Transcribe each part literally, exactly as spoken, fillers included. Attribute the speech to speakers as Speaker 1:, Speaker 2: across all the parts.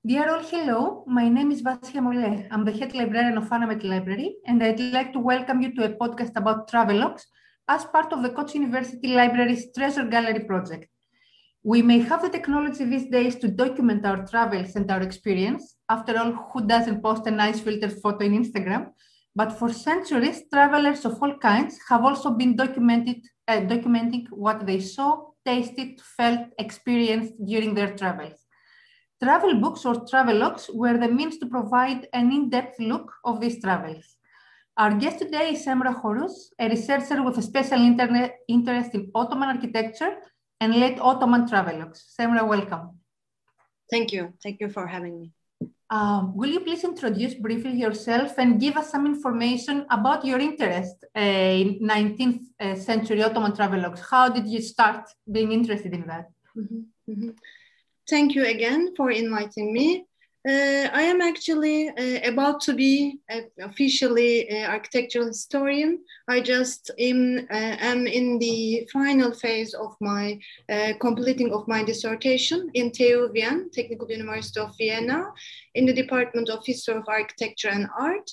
Speaker 1: Dear all, hello. My name is Vasia Molle. I'm the head librarian of Anamet Library, and I'd like to welcome you to a podcast about travelogues as part of the Koç University Library's Treasure Gallery project. We may have the technology these days to document our travels and our experience. After all, who doesn't post a nice filtered photo in Instagram? But for centuries, travelers of all kinds have also been documented, uh, documenting what they saw, tasted, felt, experienced during their travels. Travel books or travelogues were the means to provide an in-depth look of these travels. Our guest today is Semra Horus, a researcher with a special internet interest in Ottoman architecture and late Ottoman travelogues. Semra, welcome.
Speaker 2: Thank you. Thank you for having me.
Speaker 1: Um, will you please introduce briefly yourself and give us some information about your interest uh, in nineteenth century Ottoman travelogues? How did you start being interested in that?
Speaker 2: Mm-hmm. Mm-hmm. Thank you again for inviting me. Uh, I am actually uh, about to be uh, officially an architectural historian. I just am, uh, am in the final phase of my uh, completing of my dissertation in T U Vienna, Technical University of Vienna, in the Department of History of Architecture and Art.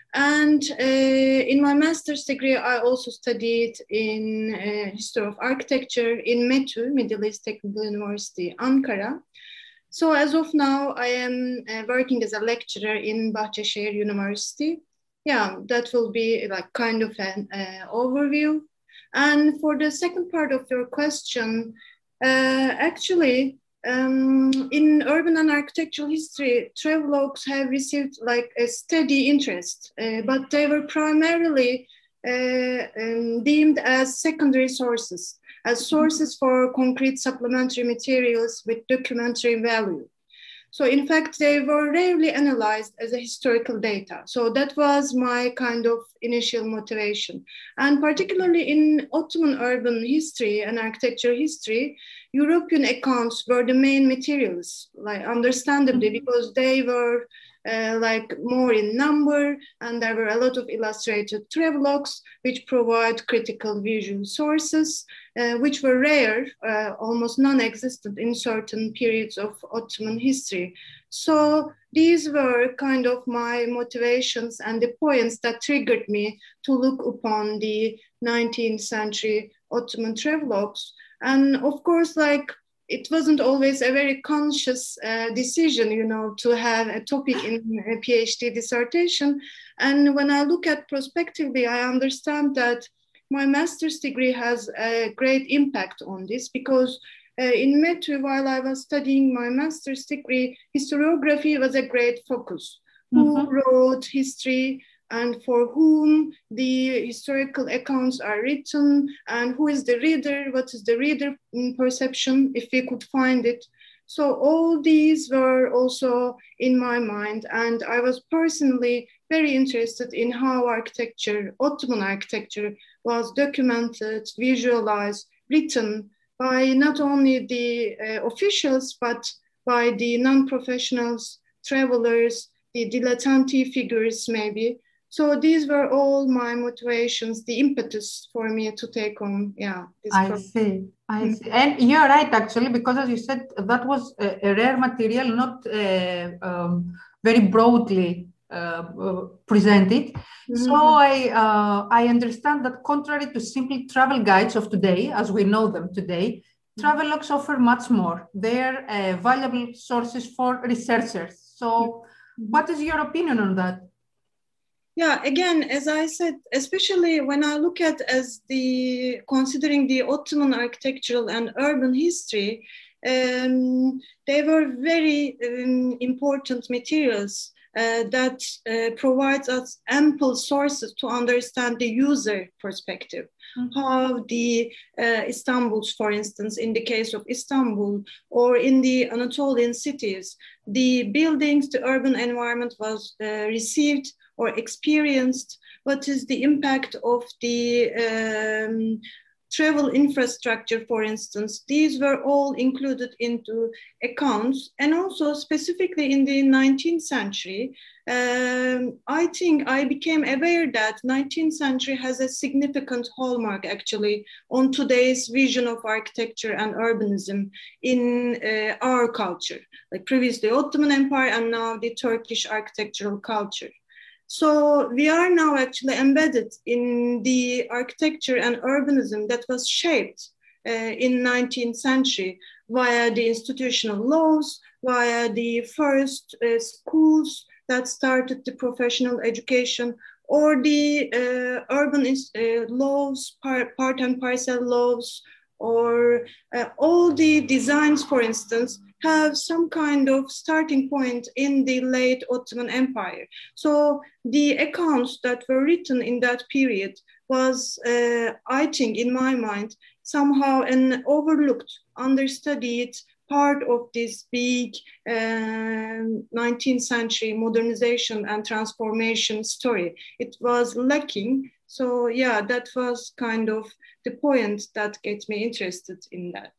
Speaker 2: And uh, in my master's degree, I also studied in uh, history of architecture in METÜ, Middle East Technical University, Ankara. So as of now, I am uh, working as a lecturer in Bahçeşehir University. Yeah, that will be like kind of an uh, overview. And for the second part of your question, uh, actually, Um, in urban and architectural history, travelogues have received like a steady interest, uh, but they were primarily uh, um, deemed as secondary sources, as sources for concrete supplementary materials with documentary value. So in fact, they were rarely analyzed as a historical data. So that was my kind of initial motivation. And particularly in Ottoman urban history and architecture history, European accounts were the main materials, like understandably, mm-hmm. because they were uh, like more in number, and there were a lot of illustrated travelogues which provide critical visual sources, uh, which were rare, uh, almost non-existent in certain periods of Ottoman history. So these were kind of my motivations and the points that triggered me to look upon the nineteenth century Ottoman travelogues. And of course, like, it wasn't always a very conscious uh, decision, you know, to have a topic in a PhD dissertation. And when I look at prospectively, I understand that my master's degree has a great impact on this, because uh, in METÜ, while I was studying my master's degree, historiography was a great focus. Mm-hmm. Who wrote history, and for whom the historical accounts are written, and who is the reader, what is the reader perception, if we could find it. So all these were also in my mind, and I was personally very interested in how architecture, Ottoman architecture, was documented, visualized, written by not only the uh, officials, but by the non-professionals, travelers, the dilettante figures maybe. So these were all my motivations, the impetus for me to take on, yeah. This
Speaker 1: I
Speaker 2: program.
Speaker 1: see, I mm-hmm. see. And you're right, actually, because as you said, that was a, a rare material, not uh, um, very broadly uh, uh, presented. Mm-hmm. So I, uh, I understand that contrary to simply travel guides of today, as we know them today, mm-hmm. travelogues offer much more. They're uh, valuable sources for researchers. So mm-hmm. what is your opinion on that?
Speaker 2: Yeah, again, as I said, especially when I look at as the considering the Ottoman architectural and urban history, um, they were very um, important materials uh, that uh, provides us ample sources to understand the user perspective. Mm-hmm. How the uh, Istanbuls, for instance, in the case of Istanbul, or in the Anatolian cities, the buildings, the urban environment was uh, received or experienced, what is the impact of the um, travel infrastructure, for instance, these were all included into accounts. And also specifically in the nineteenth century, um, I think I became aware that nineteenth century has a significant hallmark actually on today's vision of architecture and urbanism in uh, our culture, like previously Ottoman Empire and now the Turkish architectural culture. So we are now actually embedded in the architecture and urbanism that was shaped uh, in nineteenth century via the institutional laws, via the first uh, schools that started the professional education, or the uh, urban uh, laws, part, part and parcel laws, or uh, all the designs, for instance, have some kind of starting point in the late Ottoman Empire. So the accounts that were written in that period was, uh, I think, in my mind, somehow an overlooked, understudied part of this big uh, nineteenth century modernization and transformation story. It was lacking. So yeah, that was kind of the point that gets me interested in that.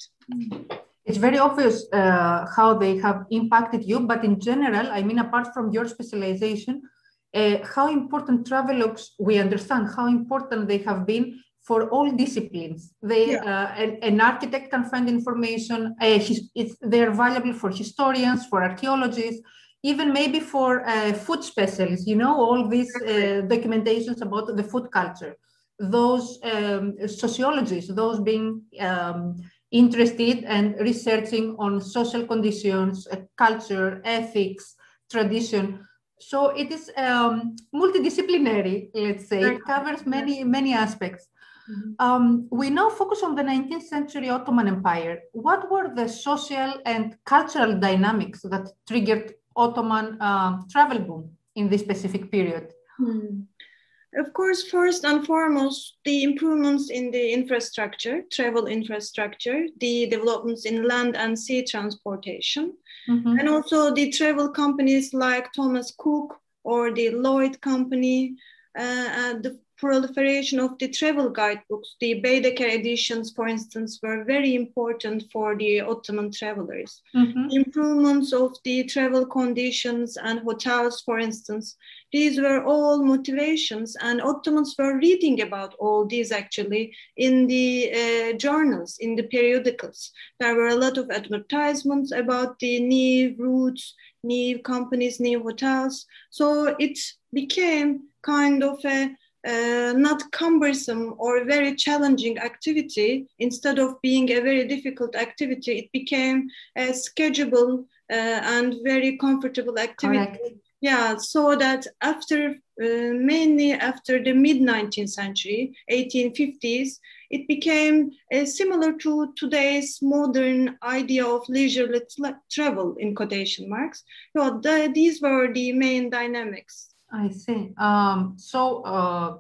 Speaker 1: It's very obvious uh, how they have impacted you, but in general, I mean, apart from your specialization, uh, how important travelogues, we understand how important they have been for all disciplines. They, yeah. uh, an, an architect can find information, uh, his, it's, they're valuable for historians, for archaeologists, even maybe for uh, food specialists, you know, all these uh, documentations about the food culture. Those um, sociologists, those being um, interested and researching on social conditions, uh, culture, ethics, tradition. So it is um, multidisciplinary, let's say. It covers many, many aspects. Mm-hmm. um, we now focus on the nineteenth century Ottoman Empire. What were the social and cultural dynamics that triggered Ottoman uh, travel boom in this specific period?
Speaker 2: Hmm. Of course, first and foremost, the improvements in the infrastructure, travel infrastructure, the developments in land and sea transportation, mm-hmm. and also the travel companies like Thomas Cook or the Lloyd Company, uh, and the proliferation of the travel guidebooks. The Baedeker editions, for instance, were very important for the Ottoman travelers. Mm-hmm. The improvements of the travel conditions and hotels, for instance, these were all motivations, and Ottomans were reading about all these actually in the uh, journals, in the periodicals. There were a lot of advertisements about the new routes, new companies, new hotels. So it became kind of a uh, not cumbersome or very challenging activity. Instead of being a very difficult activity, it became a schedulable uh, and very comfortable activity.
Speaker 1: Correct.
Speaker 2: Yeah, so that after, uh, mainly after the mid nineteenth century, eighteen fifties, it became uh, similar to today's modern idea of leisurely travel, in quotation marks. So the, these were the main dynamics.
Speaker 1: I see. Um, so uh,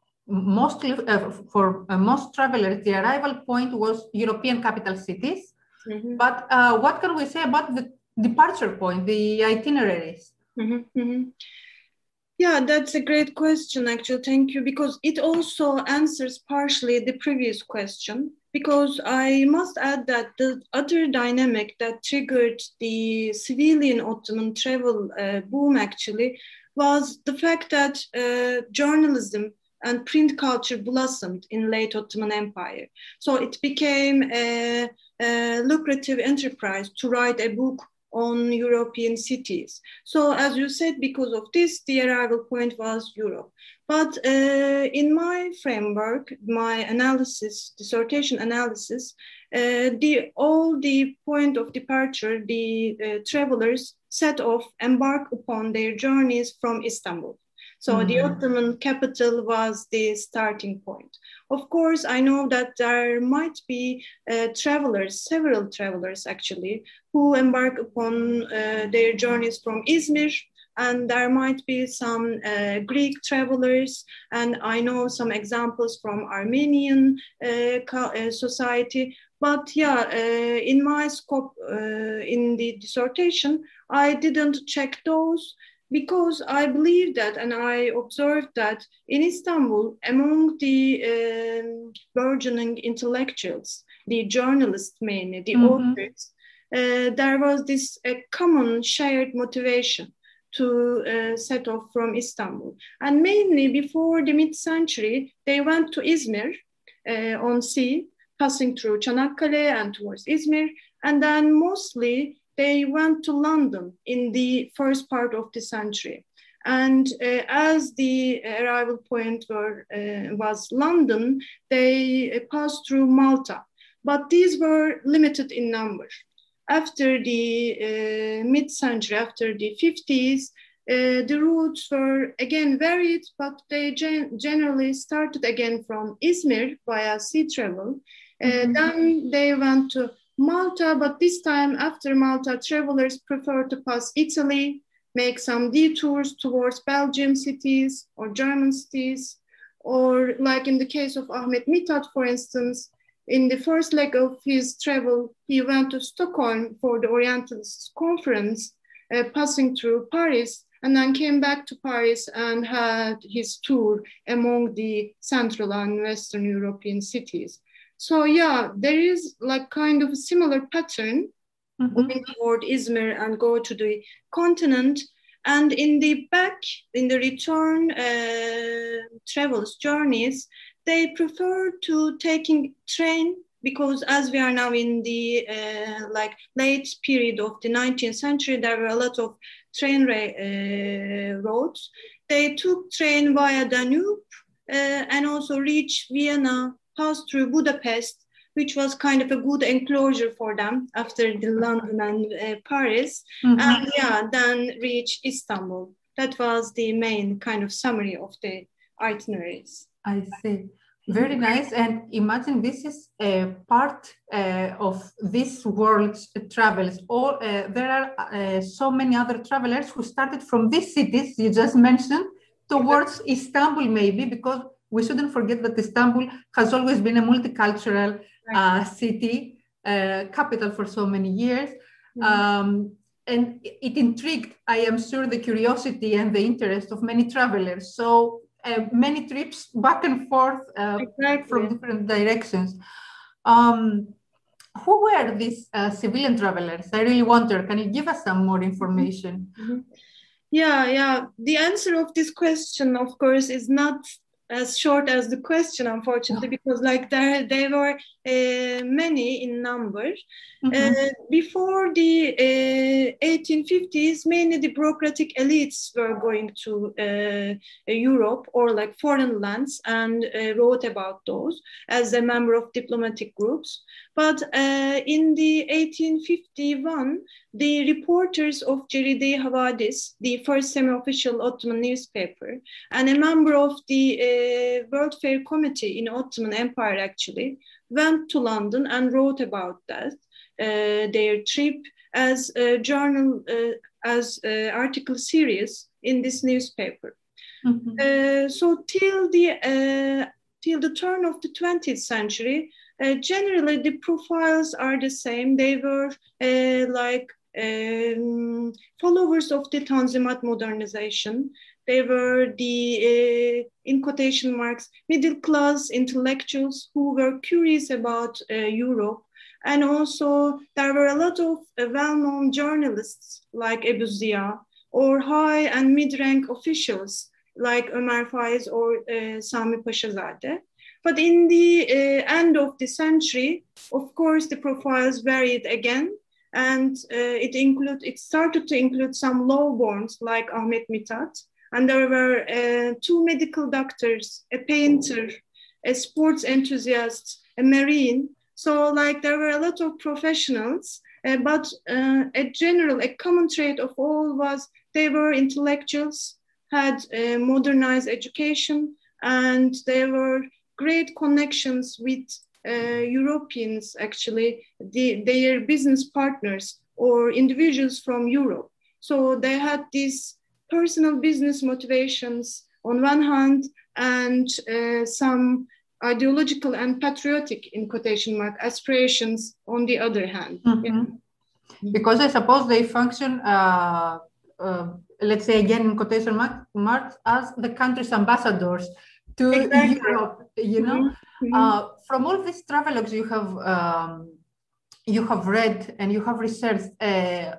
Speaker 1: mostly uh, for uh, most travelers, the arrival point was European capital cities. Mm-hmm. But uh, what can we say about the departure point, the itineraries?
Speaker 2: Mm-hmm, mm-hmm. Yeah, that's a great question, actually. Thank you, because it also answers partially the previous question. Because I must add that the other dynamic that triggered the civilian Ottoman travel uh, boom, actually, was the fact that uh, journalism and print culture blossomed in late Ottoman Empire. So it became a, a lucrative enterprise to write a book on European cities. So as you said, because of this, the arrival point was Europe. But uh, in my framework, my analysis, dissertation analysis, uh, the all the point of departure, the uh, travelers set off, embark upon their journeys from Istanbul. So mm-hmm. the Ottoman capital was the starting point. Of course, I know that there might be uh, travelers, several travelers actually, who embark upon uh, their journeys from Izmir, and there might be some uh, Greek travelers, and I know some examples from Armenian uh, uh, society. But yeah, uh, in my scope, uh, in the dissertation, I didn't check those. because I believe that, and I observed that in Istanbul, among the um, burgeoning intellectuals, the journalists mainly, the
Speaker 1: Mm-hmm.
Speaker 2: authors, uh, there was this a common shared motivation to uh, set off from Istanbul. And mainly before the mid-century, they went to Izmir uh, on sea, passing through Çanakkale and towards Izmir. And then mostly they went to London in the first part of the century. And uh, as the arrival point were, uh, was London, they passed through Malta. But these were limited in number. After the uh, mid-century, after the fifties, uh, the routes were again varied, but they gen- generally started again from Izmir via sea travel. Uh, mm-hmm. Then they went to Malta, but this time after Malta, travelers prefer to pass Italy, make some detours towards Belgium cities or German cities, or like in the case of Ahmet Mithat, for instance, in the first leg of his travel, he went to Stockholm for the Orientalists conference, uh, passing through Paris, and then came back to Paris and had his tour among the Central and Western European cities. So yeah, there is like kind of a similar pattern mm-hmm. going toward Izmir and go to the continent. And in the back, in the return uh, travels, journeys, they prefer to taking train because as we are now in the uh, like late period of the nineteenth century, there were a lot of train ra- uh, roads. They took train via Danube uh, and also reached Vienna, passed through Budapest, which was kind of a good enclosure for them after the London and uh, Paris, mm-hmm. and yeah, then reached Istanbul. That was the main kind of summary of the itineraries.
Speaker 1: I see. Very nice. And imagine this is a part uh, of this world's travels. All uh, there are uh, so many other travelers who started from these cities you just mentioned towards Istanbul, maybe, because we shouldn't forget that Istanbul has always been a multicultural uh, city, uh, capital for so many years. Mm-hmm. Um, and it intrigued, I am sure, the curiosity and the interest of many travelers. So uh, many trips back and forth uh, exactly. from different directions. Um, who were these uh, civilian travelers? I really wonder, can you give us some more information?
Speaker 2: Mm-hmm. Yeah, yeah. The answer of this question, of course, is not as short as the question, unfortunately, because like there, there were uh, many in number. Mm-hmm. Uh, before the uh, eighteen fifties, mainly the bureaucratic elites were going to uh, Europe or like foreign lands and uh, wrote about those as a member of diplomatic groups. But uh, in the eighteen fifty-one, the reporters of Ceride-i Havadis, the first semi-official Ottoman newspaper, and a member of the uh, World Fair Committee in Ottoman Empire actually, went to London and wrote about that, uh, their trip as a journal, uh, as an article series in this newspaper. Mm-hmm. Uh, so till the, uh, till the turn of the twentieth century, uh, generally the profiles are the same. They were uh, like Um, followers of the Tanzimat modernization. They were the, uh, in quotation marks, middle class intellectuals who were curious about uh, Europe. And also there were a lot of uh, well-known journalists like Ebu Ziya or high and mid-rank officials like Ömer Faiz or uh, Sami Paşazade. But in the uh, end of the century, of course, the profiles varied again. And uh, it include it started to include some lowborns like Ahmet Mithat, and there were uh, two medical doctors, a painter, a sports enthusiast, a marine. So like there were a lot of professionals, uh, but uh, a general, a common trait of all was they were intellectuals, had uh, modernized education, and there were great connections with Uh, Europeans, actually, the, their business partners or individuals from Europe. So they had these personal business motivations on one hand and uh, some ideological and patriotic, in quotation mark, aspirations on the other hand.
Speaker 1: Mm-hmm.
Speaker 2: Yeah.
Speaker 1: Because I suppose they function uh, uh, let's say again in quotation marks, as the country's ambassadors to
Speaker 2: Exactly.
Speaker 1: Europe, you know.
Speaker 2: Mm-hmm.
Speaker 1: Uh, from all these travelogues you have um, you have read and you have researched, uh,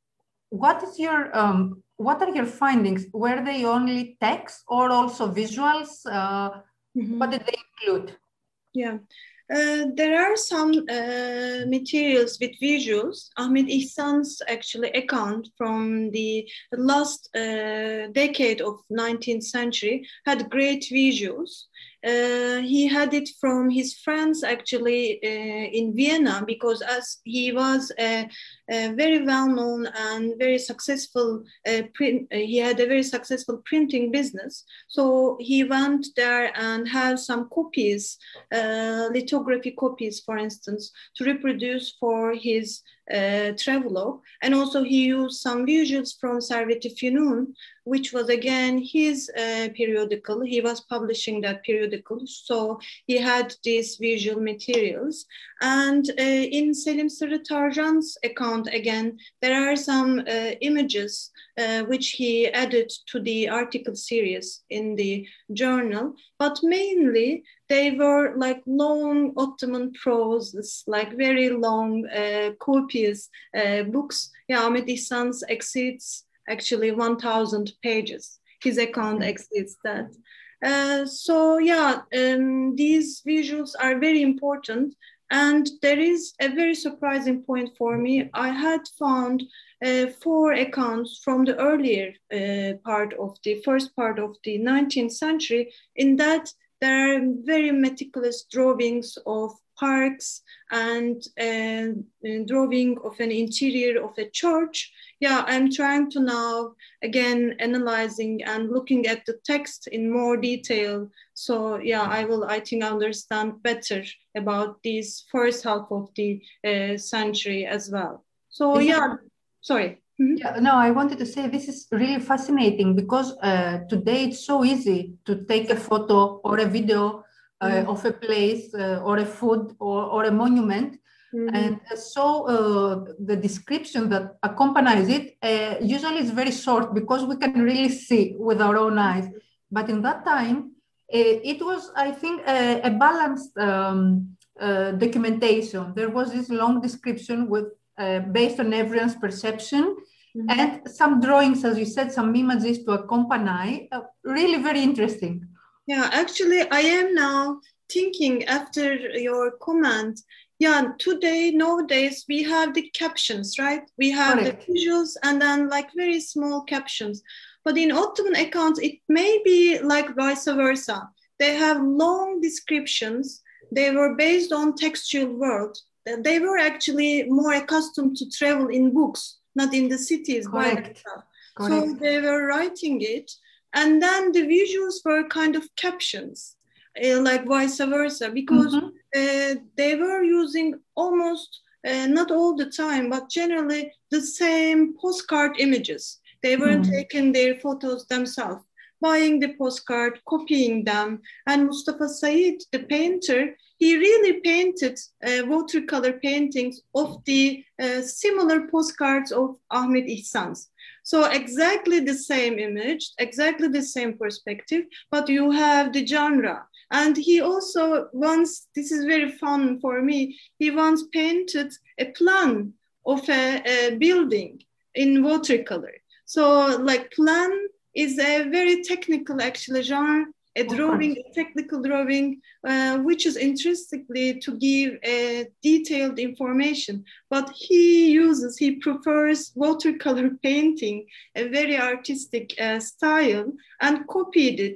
Speaker 1: what is your um, what are your findings? Were they only text or also visuals? Uh, mm-hmm. What did they include?
Speaker 2: Yeah. Uh, there are some uh, materials with visuals. Ahmet Ihsan's actually account from the last uh, decade of nineteenth century had great visuals. Uh, he had it from his friends actually uh, in Vienna, because as he was a, a very well-known and very successful uh, print, uh, he had a very successful printing business. So he went there and had some copies, uh, lithography copies, for instance, to reproduce for his uh, travelogue. And also he used some visuals from Servet-i Fünun, which was again his uh, periodical. He was publishing that periodical, so he had these visual materials. And uh, in Selim Sırrı Tarjan's account, again, there are some uh, images uh, which he added to the article series in the journal, but mainly they were like long Ottoman prose, like very long, uh, copious uh, books. Yeah, Ahmet İhsan's exceeds actually one thousand pages. His account exceeds that. Uh, so yeah, um, these visuals are very important. And there is a very surprising point for me. I had found uh, four accounts from the earlier uh, part of the first part of the nineteenth century. In that, there are very meticulous drawings of parks and uh, drawing of an interior of a church. Yeah, I'm trying to now, again, analyzing and looking at the text in more detail. So yeah, I will, I think, understand better about this first half of the uh, century as well. So
Speaker 1: this
Speaker 2: yeah,
Speaker 1: is,
Speaker 2: sorry.
Speaker 1: Mm-hmm. Yeah, no, I wanted to say this is really fascinating because uh, today it's so easy to take a photo or a video uh, mm-hmm. of a place uh, or a food or, or a monument. Mm-hmm. And so uh, the description that accompanies it uh, usually is very short because we can really see with our own eyes. But in that time, uh, it was, I think, a, a balanced um, uh, documentation. There was this long description with uh, based on everyone's perception, mm-hmm. and some drawings, as you said, some images to accompany. Uh, really very interesting.
Speaker 2: Yeah, actually, I am now thinking after your comment. Yeah, today, nowadays, we have the captions, right? We have Correct. The visuals and then like very small captions. But in Ottoman accounts, it may be like vice versa. They have long descriptions. They were based on textual world. They were actually more accustomed to travel in books, not in the cities.
Speaker 1: Correct.
Speaker 2: By Correct. So they were writing it. And then the visuals were kind of captions, uh, like vice versa, because mm-hmm. uh, they were using almost, uh, not all the time, but generally the same postcard images. They weren't mm-hmm. taking their photos themselves, buying the postcard, copying them. And Mustafa Said, the painter, he really painted uh, watercolor paintings of the uh, similar postcards of Ahmet İhsan's. So exactly the same image, exactly the same perspective, but you have the genre. And he also once, this is very fun for me, he once painted a plan of a, a building in watercolor. So like plan is a very technical actually genre, a drawing, a technical drawing, uh, which is intrinsically to give a detailed information. But he uses, he prefers watercolor painting, a very artistic uh, style, and copied it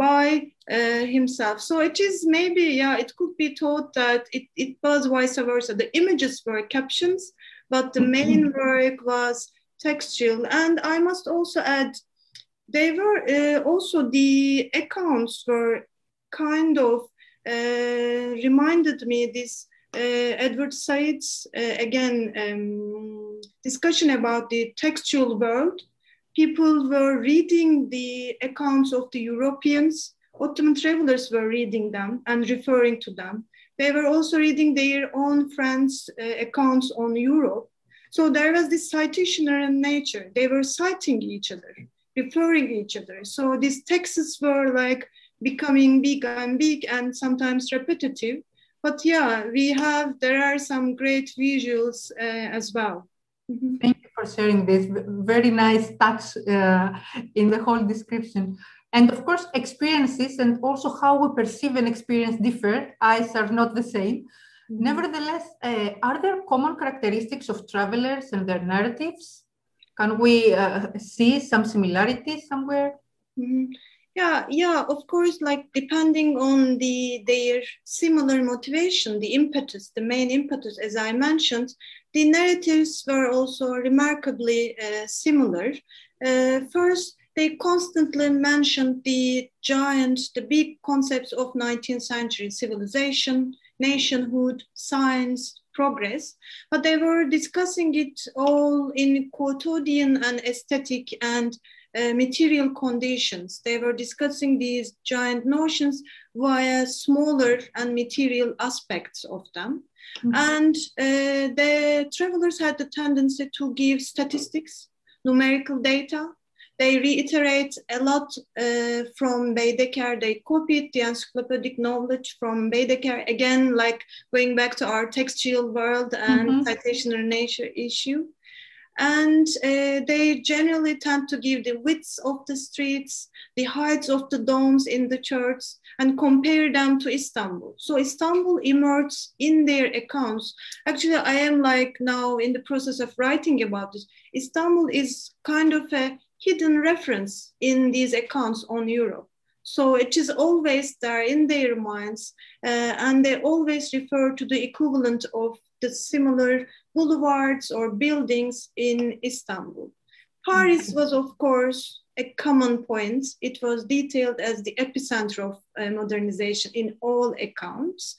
Speaker 2: by uh, himself. So it is maybe, yeah, it could be thought that it, it was vice versa. The images were captions, but the main work was textual. And I must also add, they were uh, also, the accounts were kind of uh, reminded me this uh, Edward Said's, uh, again, um, discussion about the textual world. People were reading the accounts of the Europeans. Ottoman travelers were reading them and referring to them. They were also reading their own friends' uh, accounts on Europe. So there was this citationary nature. They were citing each other, referring each other. So these texts were like becoming big and big and sometimes repetitive. But yeah, we have, there are some great visuals uh, as well.
Speaker 1: Mm-hmm. Thank you for sharing this. Very nice touch uh, in the whole description. And of course, experiences and also how we perceive an experience differ. Eyes are not the same. Mm-hmm. Nevertheless, uh, are there common characteristics of travelers and their narratives? Can we uh, see some similarities somewhere?
Speaker 2: Mm-hmm. Yeah, yeah, of course, like depending on the their similar motivation, the impetus, the main impetus, as I mentioned, the narratives were also remarkably uh, similar. Uh, first, they constantly mentioned the giant, the big concepts of nineteenth century civilization, nationhood, science, progress, but they were discussing it all in quotidian and aesthetic and Uh, material conditions. They were discussing these giant notions via smaller and material aspects of them. Mm-hmm. And uh, the travelers had the tendency to give statistics, numerical data. They reiterate a lot uh, from Baedeker. They copied the encyclopedic knowledge from Baedeker, again, like going back to our textual world and mm-hmm. citationary nature issue. And uh, they generally tend to give the widths of the streets, the heights of the domes in the churches, and compare them to Istanbul. So Istanbul emerges in their accounts. Actually, I am like now in the process of writing about this. Istanbul is kind of a hidden reference in these accounts on Europe. So it is always there in their minds, uh, and they always refer to the equivalent of the similar boulevards or buildings in Istanbul. Paris was, of course, a common point. It was detailed as the epicenter of uh, modernization in all accounts.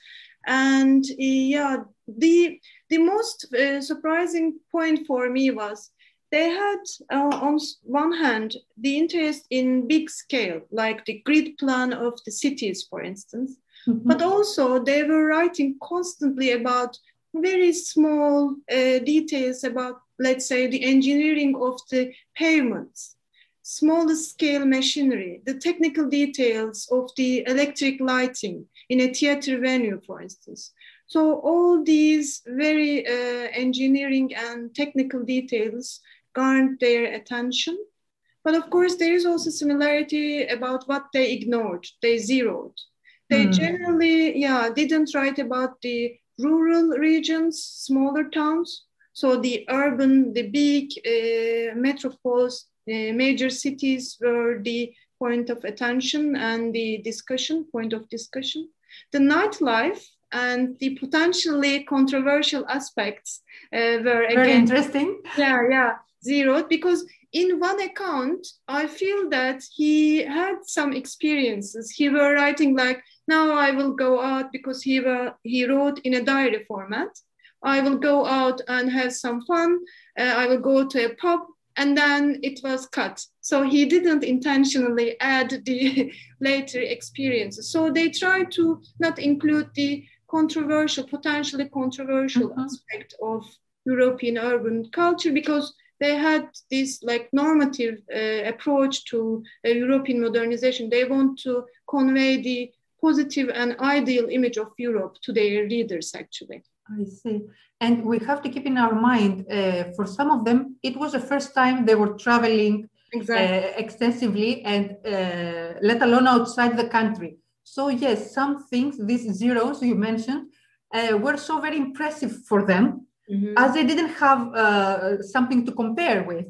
Speaker 2: And yeah, the, the most uh, surprising point for me was they had, uh, on one hand, the interest in big scale, like the grid plan of the cities, for instance, mm-hmm. but also they were writing constantly about very small uh, details about, let's say, the engineering of the pavements, smaller scale machinery, the technical details of the electric lighting in a theater venue, for instance. So all these very uh, engineering and technical details garnered their attention. But of course, there is also similarity about what they ignored, they zeroed. They mm. generally, yeah, didn't write about the rural regions, smaller towns. So the urban, the big uh, metropoles, uh, major cities were the point of attention and the discussion, point of discussion. The nightlife and the potentially controversial aspects uh, were again—
Speaker 1: Very interesting.
Speaker 2: Yeah, yeah, zeroed, because in one account, I feel that he had some experiences. He were writing like, now I will go out, because he, were, he wrote in a diary format. I will go out and have some fun. Uh, I will go to a pub, and then it was cut. So he didn't intentionally add the later experiences. So they tried to not include the controversial, potentially controversial mm-hmm. aspect of European urban culture, because they had this like normative uh, approach to uh, European modernization. They want to convey the positive and ideal image of Europe to their readers, actually.
Speaker 1: I see. And we have to keep in our mind, uh, for some of them, it was the first time they were traveling exactly. uh, extensively, and uh, let alone outside the country. So yes, some things, these zeros you mentioned, uh, were so very impressive for them, mm-hmm. as they didn't have uh, something to compare with.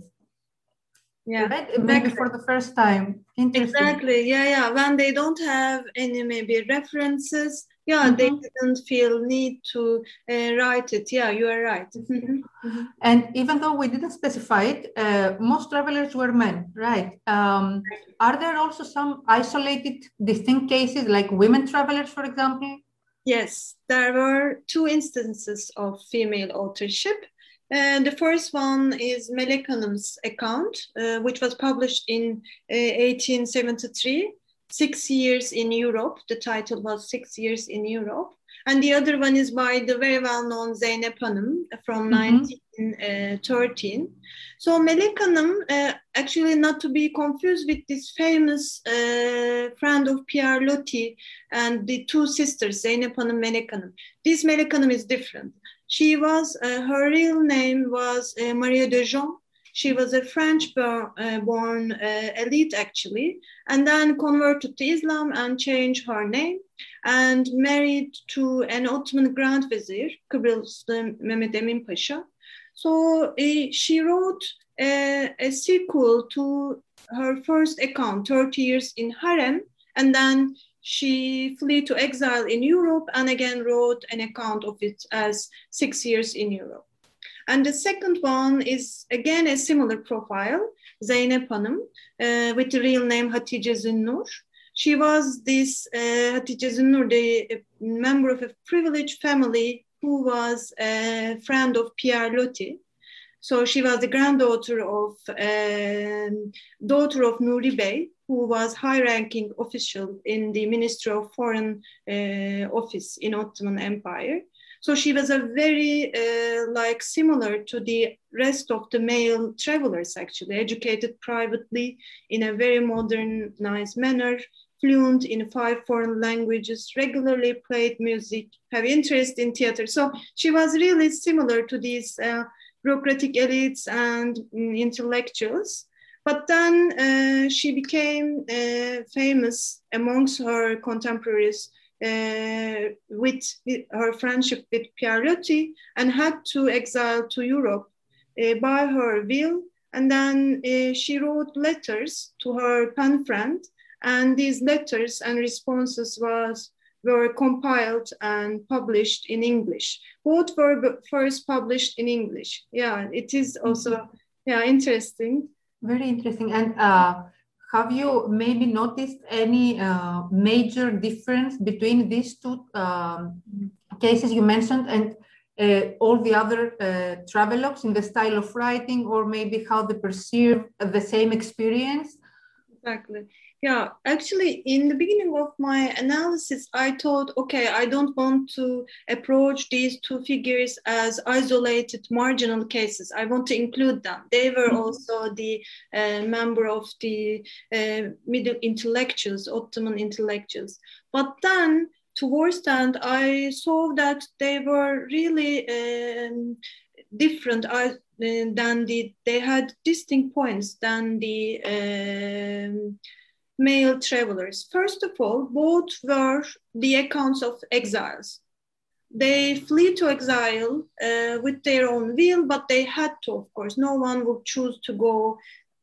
Speaker 2: Yeah,
Speaker 1: right? Exactly. Maybe for the first time.
Speaker 2: Exactly. Yeah, yeah. When they don't have any maybe references, yeah, mm-hmm. they didn't feel need to uh, write it. Yeah, you are right. Mm-hmm.
Speaker 1: Mm-hmm. And even though we didn't specify it, uh, most travelers were men, right? Um, are there also some isolated, distinct cases, like women travelers, for example?
Speaker 2: Yes, there were two instances of female authorship. Uh, the first one is Melek Hanım's account, uh, which was published in uh, eighteen seventy-three, Six Years in Europe. The title was Six Years in Europe. and the other one is by the very well-known Zeynep Hanım from
Speaker 1: Mm-hmm.
Speaker 2: nineteen thirteen. So Melek Hanım, uh, actually not to be confused with this famous uh, friend of Pierre Loti and the two sisters, Zeynep Hanım, Melek Hanım. This Melek Hanım is different. She was, uh, her real name was uh, Maria de Jean. She was a French-born uh, born, uh, elite, actually, and then converted to Islam and changed her name and married to an Ottoman Grand Vizier, Kıbrıslı Mehmet Emin Pasha. So uh, she wrote a, a sequel to her first account, thirty years in Harem, and then she fled to exile in Europe and again wrote an account of it as six years in Europe. And the second one is again a similar profile, Zeynep Hanım, uh, with the real name Hatice Zünnur. She was this uh, Hatice Zünnur, the a member of a privileged family who was a friend of Pierre Loti. So she was the granddaughter of um, daughter of Nuri Bey, who was high-ranking official in the Ministry of Foreign uh, Office in Ottoman Empire. So she was a very uh, like similar to the rest of the male travelers, actually, educated privately in a very modernized manner, fluent in five foreign languages, regularly played music, have interest in theater. So she was really similar to these uh, bureaucratic elites and um, intellectuals. But then uh, she became uh, famous amongst her contemporaries Uh, with, with her friendship with Pierre Loti and had to exile to Europe uh, by her will. And then uh, she wrote letters to her pen friend, and these letters and responses was were compiled and published in English. Both were first published in English. Yeah, it is also yeah interesting.
Speaker 1: Very interesting. And uh, have you maybe noticed any uh, major difference between these two um, cases you mentioned and uh, all the other uh, travelogues in the style of writing, or maybe how they perceive the same experience?
Speaker 2: Exactly. Yeah, actually, in the beginning of my analysis, I thought, okay, I don't want to approach these two figures as isolated, marginal cases. I want to include them. They were mm-hmm. also the uh, member of the uh, middle intellectuals, Ottoman intellectuals. But then, towards the end, I saw that they were really um, different. I, than the, they had distinct points than the um, male travelers. First of all, both were the accounts of exiles. They flee to exile uh, with their own will, but they had to, of course. No one would choose to go.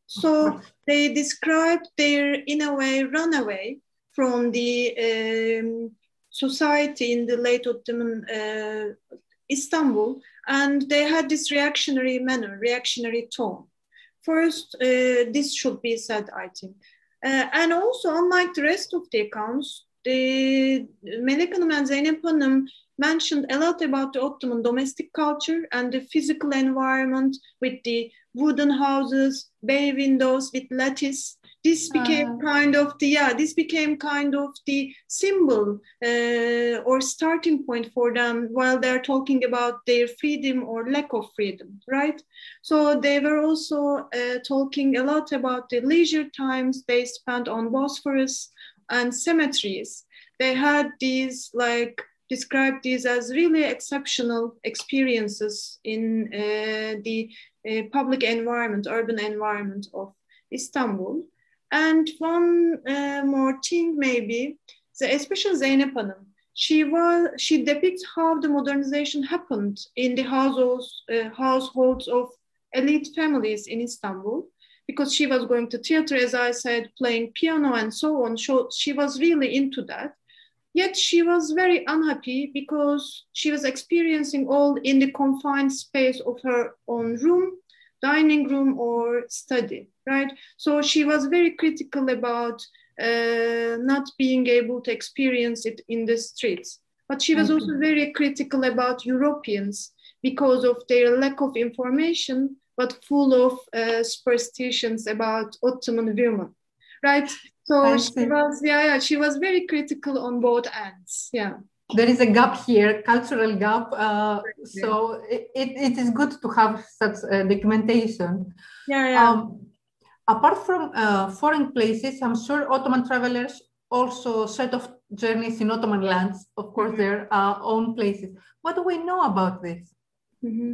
Speaker 2: So they described their, in a way, runaway from the um, society in the late Ottoman uh, Istanbul, and they had this reactionary manner, reactionary tone. First, uh, this should be said, I think. Uh, and also, unlike the rest of the accounts, the Melek Hanım and Zeynep Hanım mentioned a lot about the Ottoman domestic culture and the physical environment with the wooden houses, bay windows with lattice. This became uh, kind of the, yeah, this became kind of the symbol uh, or starting point for them while they're talking about their freedom or lack of freedom, right? So they were also uh, talking a lot about the leisure times they spent on Bosphorus and cemeteries. They had these, like, described these as really exceptional experiences in uh, the uh, public environment, urban environment of Istanbul. And one uh, more thing, maybe, especially Zeynep Hanım, she was she depicts how the modernization happened in the households uh, households of elite families in Istanbul, because she was going to theater, as I said, playing piano and so on. So she was really into that. Yet she was very unhappy because she was experiencing all in the confined space of her own room, dining room, or study, right? So she was very critical about uh, not being able to experience it in the streets. But she was also very critical about Europeans because of their lack of information, but full of uh, superstitions about Ottoman women, right? So she was, yeah, yeah, she was very critical on both ends, yeah.
Speaker 1: there is a gap here, cultural gap. Uh, so it, it is good to have such uh, documentation.
Speaker 2: Yeah, yeah.
Speaker 1: Um, apart from uh, foreign places, I'm sure Ottoman travelers also set off journeys in Ottoman lands, of course, mm-hmm. their uh, own places. What do we know about this?
Speaker 2: Mm-hmm.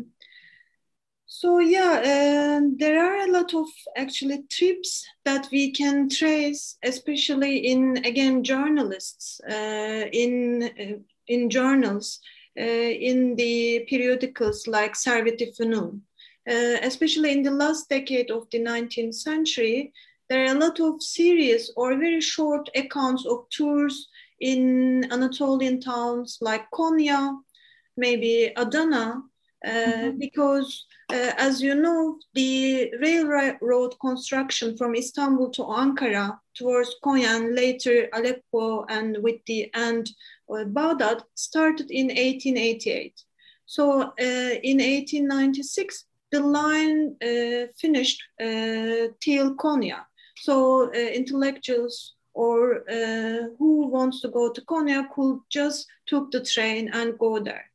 Speaker 2: So yeah, uh, there are a lot of actually trips that we can trace, especially in, again, journalists, uh, in uh, in journals, uh, in the periodicals like Servet-i Fünun. Uh, especially in the last decade of the nineteenth century, there are a lot of serious or very short accounts of tours in Anatolian towns like Konya, maybe Adana, uh, mm-hmm. because uh, as you know, the railroad construction from Istanbul to Ankara towards Konya and later Aleppo and with the end of Baghdad started in eighteen eighty-eight. So uh, in eighteen ninety-six, the line uh, finished uh, till Konya. So uh, intellectuals or uh, who wants to go to Konya could just took the train and go there.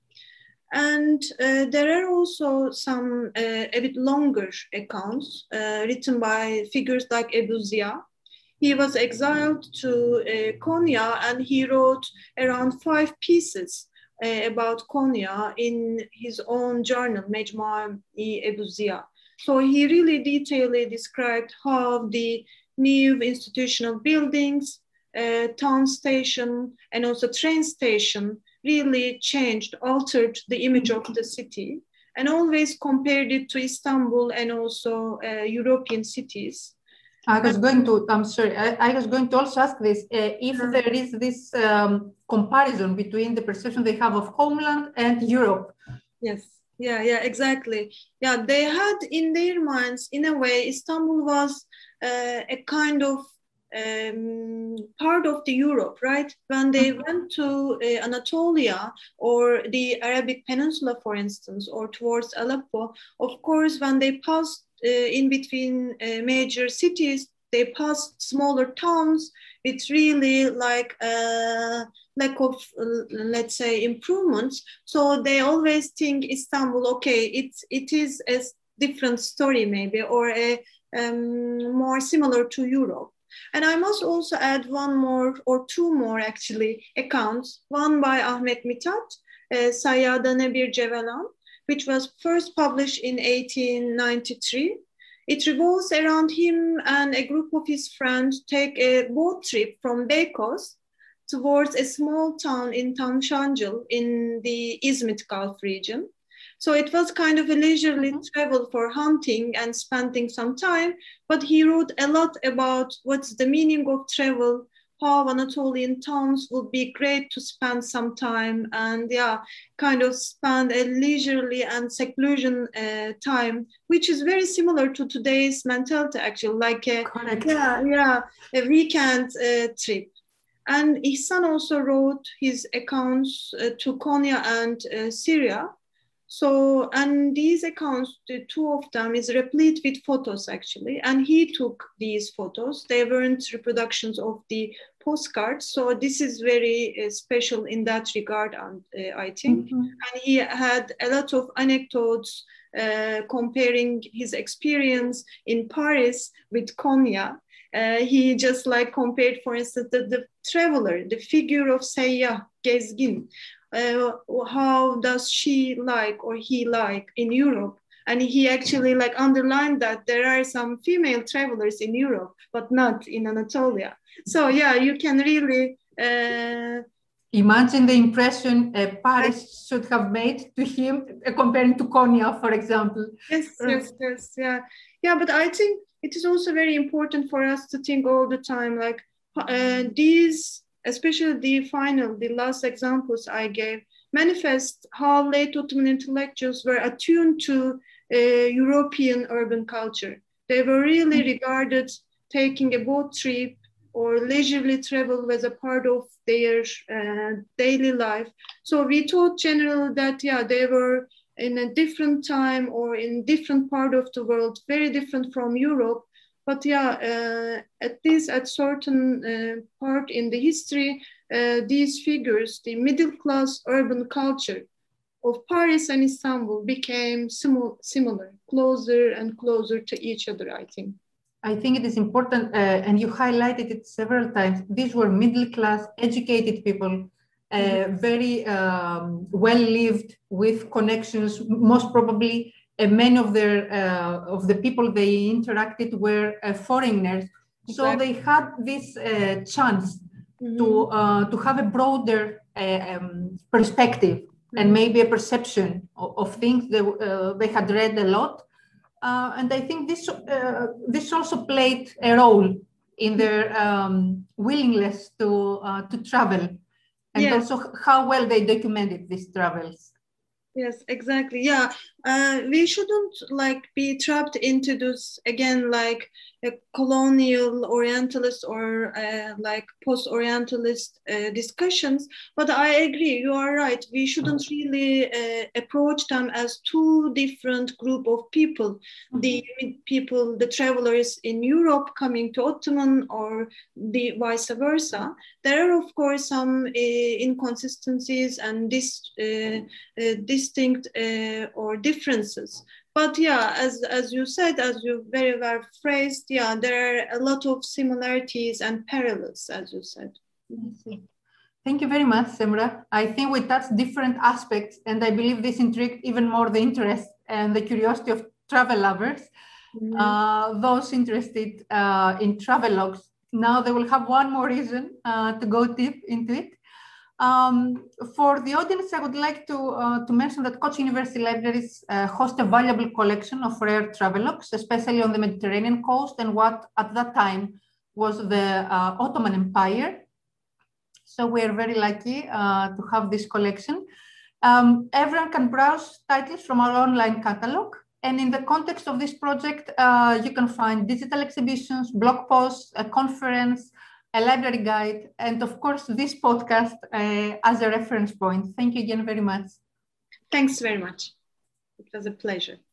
Speaker 2: And uh, there are also some uh, a bit longer accounts uh, written by figures like Ebu Ziya. He was exiled to uh, Konya and he wrote around five pieces uh, about Konya in his own journal, Mecmua-i Ebu Ziya. So he really detailedly described how the new institutional buildings, uh, town station, and also train station really changed, altered the image of the city, and always compared it to Istanbul and also uh, European cities.
Speaker 1: I was going to, I'm sorry, I, I was going to also ask this, uh, if yeah. there is this um, comparison between the perception they have of homeland and Europe.
Speaker 2: Yes, yeah, yeah, exactly. Yeah, they had in their minds, in a way, Istanbul was uh, a kind of Um, part of the Europe, right? When they mm-hmm. went to uh, Anatolia or the Arabic Peninsula, for instance, or towards Aleppo, of course, when they passed uh, in between uh, major cities, they passed smaller towns with really like a lack of, uh, let's say, improvements. So they always think Istanbul, okay, it's, it is a different story maybe, or a um, more similar to Europe. And I must also add one more or two more actually accounts, one by Ahmet Mithat, uh, Sayyadane Bir Cevelan, which was first published in eighteen ninety-three. It revolves around him and a group of his friends take a boat trip from Beykoz towards a small town in Tamşancıl in the Izmit Gulf region. So it was kind of a leisurely mm-hmm. travel for hunting and spending some time, but he wrote a lot about what's the meaning of travel, how Anatolian towns would be great to spend some time and yeah, kind of spend a leisurely and seclusion uh, time, which is very similar to today's mentality actually, like a,
Speaker 1: Correct.
Speaker 2: yeah, yeah, a weekend uh, trip. And Ihsan also wrote his accounts uh, to Konya and uh, Syria. So, and these accounts, the two of them is replete with photos actually. And he took these photos. They weren't reproductions of the postcards. So this is very uh, special in that regard, and uh, I think. Mm-hmm. And he had a lot of anecdotes uh, comparing his experience in Paris with Konya. Uh, he just like compared, for instance, the, the traveler, the figure of Seyyah, Gezgin. Uh, how does she like or he like in Europe? And he actually like underlined that there are some female travelers in Europe, but not in Anatolia. So yeah, you can really uh,
Speaker 1: imagine the impression uh, Paris should have made to him uh, comparing to Konya, for example.
Speaker 2: Yes, yes, yes, yeah, yeah. But I think it is also very important for us to think all the time, like uh, these. Especially the final, the last examples I gave, manifest how late Ottoman intellectuals were attuned to uh, European urban culture. They were really regarded taking a boat trip or leisurely travel as a part of their uh, daily life. So we thought generally that, yeah, they were in a different time or in different part of the world, very different from Europe. But yeah, uh, at least at certain uh, part in the history, uh, these figures, the middle class urban culture of Paris and Istanbul became simu- similar, closer and closer to each other, I think.
Speaker 1: I think it is important, uh, and you highlighted it several times. These were middle-class, educated people, uh, mm-hmm. very um, well-lived, with connections. Most probably, uh, many of their uh, of the people they interacted were uh, foreigners, exactly. So they had this uh, chance mm-hmm. to uh, to have a broader uh, um, perspective mm-hmm. and maybe a perception of, of things. They uh, they had read a lot. Uh, and I think this uh, this also played a role in their um, willingness to uh, to travel, and yes. also how well they documented these travels.
Speaker 2: Yes, exactly. Yeah, uh, we shouldn't like be trapped into this again, like a colonial Orientalist or uh, like post-Orientalist uh, discussions. But I agree, you are right. We shouldn't really uh, approach them as two different group of people. Mm-hmm. The people, the travelers in Europe coming to Ottoman, or the vice versa. There are of course some uh, inconsistencies and this. Uh, uh, distinct uh, or differences, but yeah, as as you said, as you very well phrased, yeah, there are a lot of similarities and parallels, as you said.
Speaker 1: Thank you very much, Semra. I think we touched different aspects, and I believe this intrigued even more the interest and the curiosity of travel lovers. Mm-hmm. Uh, those interested uh, in travelogues, now they will have one more reason uh, to go deep into it. Um, for the audience, I would like to, uh, to mention that Koç University Libraries uh, host a valuable collection of rare travelogues, especially on the Mediterranean coast and what at that time was the uh, Ottoman Empire. So we are very lucky uh, to have this collection. Um, everyone can browse titles from our online catalog. And in the context of this project, uh, you can find digital exhibitions, blog posts, a conference, a library guide, and of course, this podcast uh, as a reference point. Thank you again very much.
Speaker 2: Thanks very much. It was a pleasure.